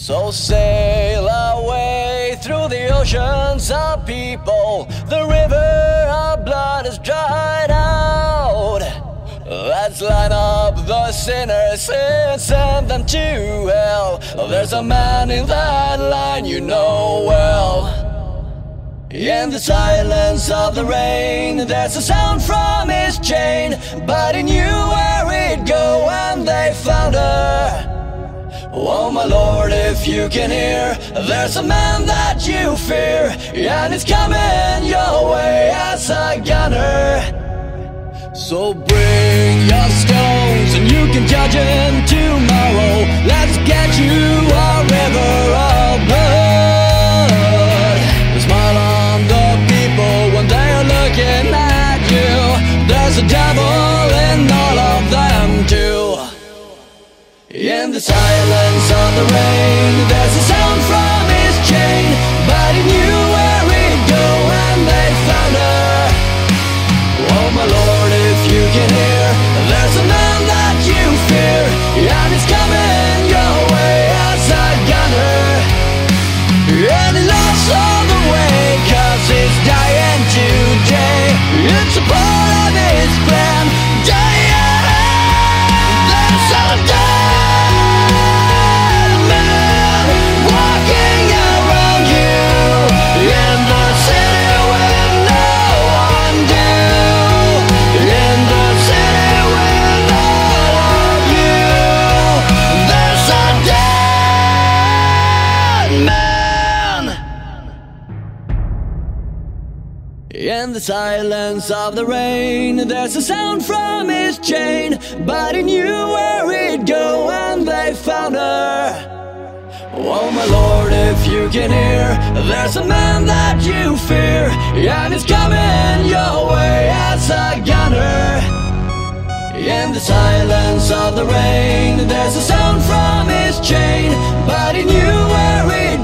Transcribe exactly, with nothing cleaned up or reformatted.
So sail away through the oceans of people. The river of blood is dried out. Let's line up the sinners and send them to hell. There's a man in that line you know well. In the silence of the rain, there's a sound from his chain, but he knew where he'd go when they found her. Oh my Lord, if you can hear, there's a man that you fear, and he's coming your way as a gunner. So bring your stones and you can judge him tomorrow. Let's get you a river of blood. Smile on the people when they are looking at you. There's a devil in all of them too. In the silence of the rain, there's a sound from his chain, but he knew where he'd go when they found her. Oh my Lord, if you can hear, there's a man that you fear, and he's coming your way as a gunner. And he lost all the way, cause he's dying today. It's a part of his plan. There's a dead man walking around you in the city with no one do. In the city with all of you, there's a dead man. In the silence of the rain, there's a sound from his chain, but he knew where he'd go when they found her. Oh my Lord, if you can hear, there's a man that you fear, and he's coming your way as a gunner. In the silence of the rain, there's a sound from his chain, but he knew where he